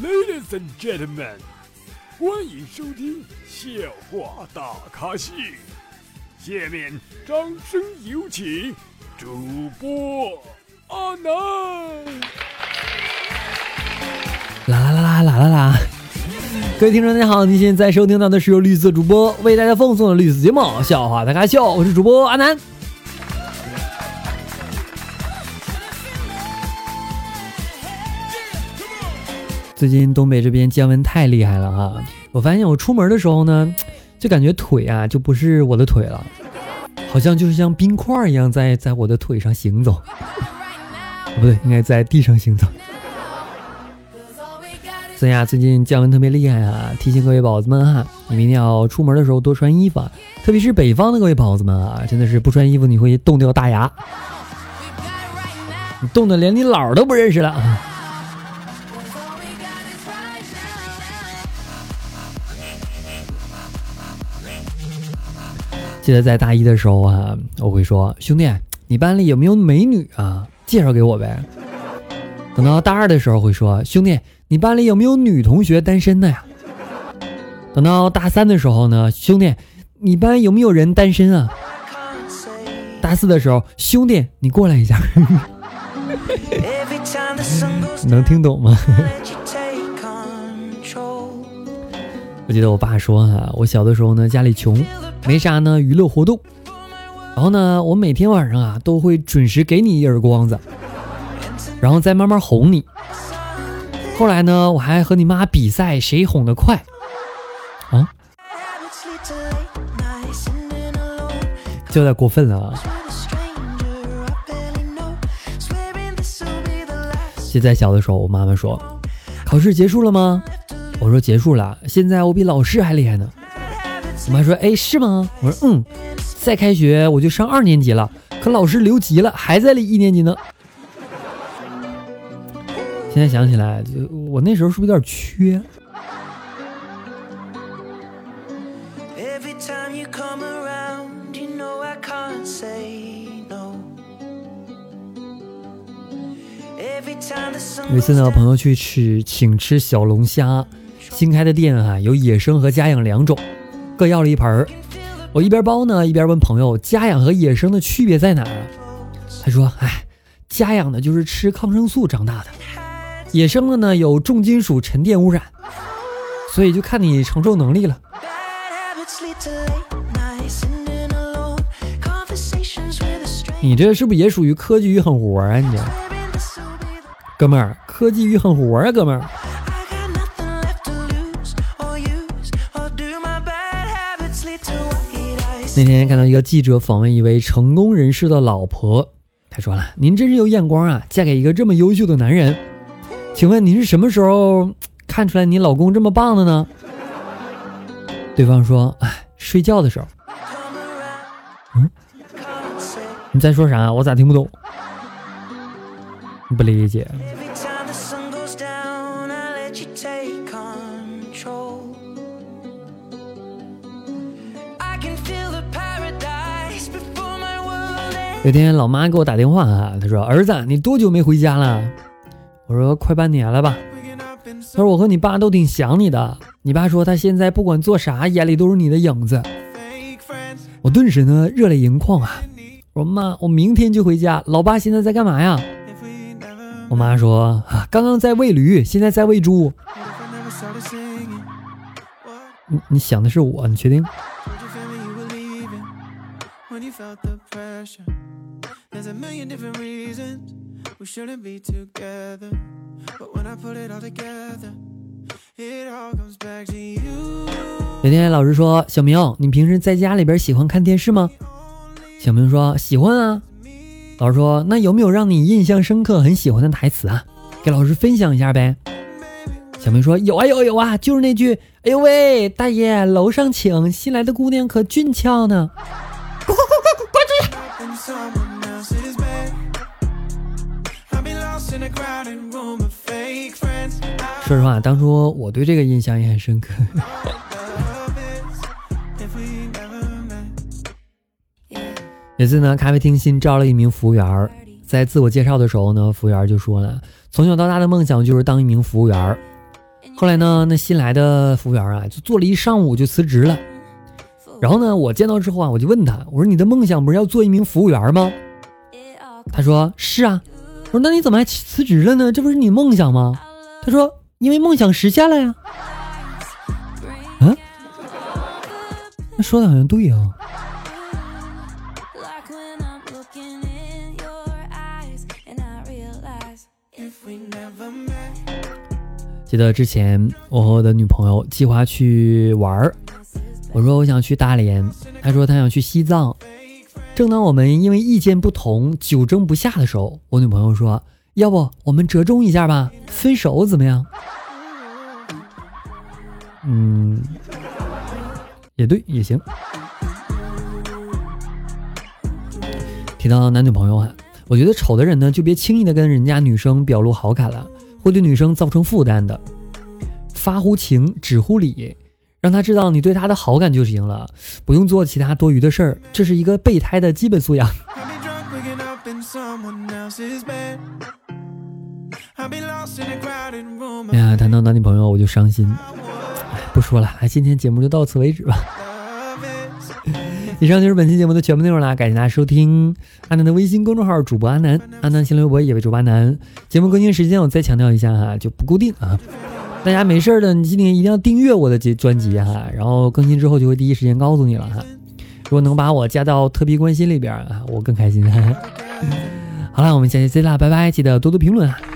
Ladies and gentlemen， 欢迎收听笑话大咖秀。下面掌声有请主播阿南。 啦！各位听众大家好，您现在收听到的是由绿色主播为大家奉送的绿色节目《笑话大咖秀》，我是主播阿南。最近东北这边降温太厉害了啊！我发现我出门的时候呢，就感觉腿啊就不是我的腿了，好像就是像冰块一样在我的腿上行走，不对，应该在地上行走。所以啊，最近降温特别厉害啊，提醒各位宝子们啊，你们一定要出门的时候多穿衣服啊，特别是北方的各位宝子们啊，真的是不穿衣服你会冻掉大牙，你冻得连你姥都不认识了。记得在大一的时候啊，我会说，兄弟，你班里有没有美女啊？介绍给我呗。等到大二的时候会说，兄弟，你班里有没有女同学单身的呀？等到大三的时候呢，兄弟，你班有没有人单身啊？大四的时候，兄弟，你过来一下。能听懂吗？我记得我爸说啊，我小的时候呢，家里穷，没啥呢娱乐活动，然后呢，我每天晚上啊都会准时给你一耳光子，然后再慢慢哄你。后来呢，我还和你妈比赛谁哄得快啊，就有点过分了啊。记得在小的时候，我妈妈说，考试结束了吗？我说结束了，现在我比老师还厉害呢。我妈说，哎，是吗？我说再开学我就上2年级了，可老师留级了，还在1年级呢。现在想起来，就我那时候是不是有点缺？有一次呢，朋友去请吃小龙虾，新开的店啊，有野生和家养2种，各要了一盆。我一边包呢，一边问朋友，家养和野生的区别在哪儿啊？他说，家养的就是吃抗生素长大的，野生的呢有重金属沉淀污染，所以就看你承受能力了。你这是不是也属于科技与狠活啊？你这哥们儿，科技与狠活啊，哥们儿。那天看到一个记者访问一位成功人士的老婆，他说了，您真是有眼光啊，嫁给一个这么优秀的男人。请问你是什么时候看出来你老公这么棒的呢？对方说，睡觉的时候。你在说啥？我咋听不懂？不理解。有天老妈给我打电话啊，她说，儿子，你多久没回家了？我说快半年了吧。他说，我和你爸都挺想你的，你爸说他现在不管做啥眼里都是你的影子。我顿时呢热泪盈眶啊，我说妈，我明天就回家，老爸现在在干嘛呀？我妈说，刚刚在喂驴，现在在喂猪。你想的是我，你确定？有天老师说，小明，你平时在家里边喜欢看电视吗？小明说，喜欢啊。老师说，那有没有让你印象深刻很喜欢的台词啊？给老师分享一下呗。小明说，有啊，就是那句，哎呦喂，大爷楼上请，新来的姑娘可俊俏呢。滚出去。说实话，当初我对这个印象也很深刻。有次呢，咖啡厅新招了一名服务员，在自我介绍的时候呢，服务员就说了，从小到大的梦想就是当一名服务员。 后来呢，那新来的服务员啊，就做了一上午就辞职了。然后呢，我见到之后啊，我就问他，我说你的梦想不是要做一名服务员吗？他说是啊。我说那你怎么还辞职了呢？这不是你梦想吗？他说因为梦想实现了呀。啊？那说的好像对啊。记得之前我和我的女朋友计划去玩，我说我想去大连，她说她想去西藏。正当我们因为意见不同久争不下的时候，我女朋友说要不我们折中一下吧，分手怎么样？也对，也行。提到男女朋友啊，我觉得丑的人呢就别轻易的跟人家女生表露好感了，会对女生造成负担的。发乎情，止乎礼，让她知道你对她的好感就行了，不用做其他多余的事儿，这是一个备胎的基本素养。哎呀，谈到男女朋友我就伤心，不说了，今天节目就到此为止吧。以上就是本期节目的全部内容啦，感谢大家收听阿南的微信公众号主播阿南，阿南新浪微博也为主播阿南。节目更新时间我再强调一下哈，就不固定啊，大家没事的你今天一定要订阅我的专辑哈，然后更新之后就会第一时间告诉你了哈。如果能把我加到特别关心里边啊，我更开心。好了，我们下期再见啦，拜拜，记得多多评论啊。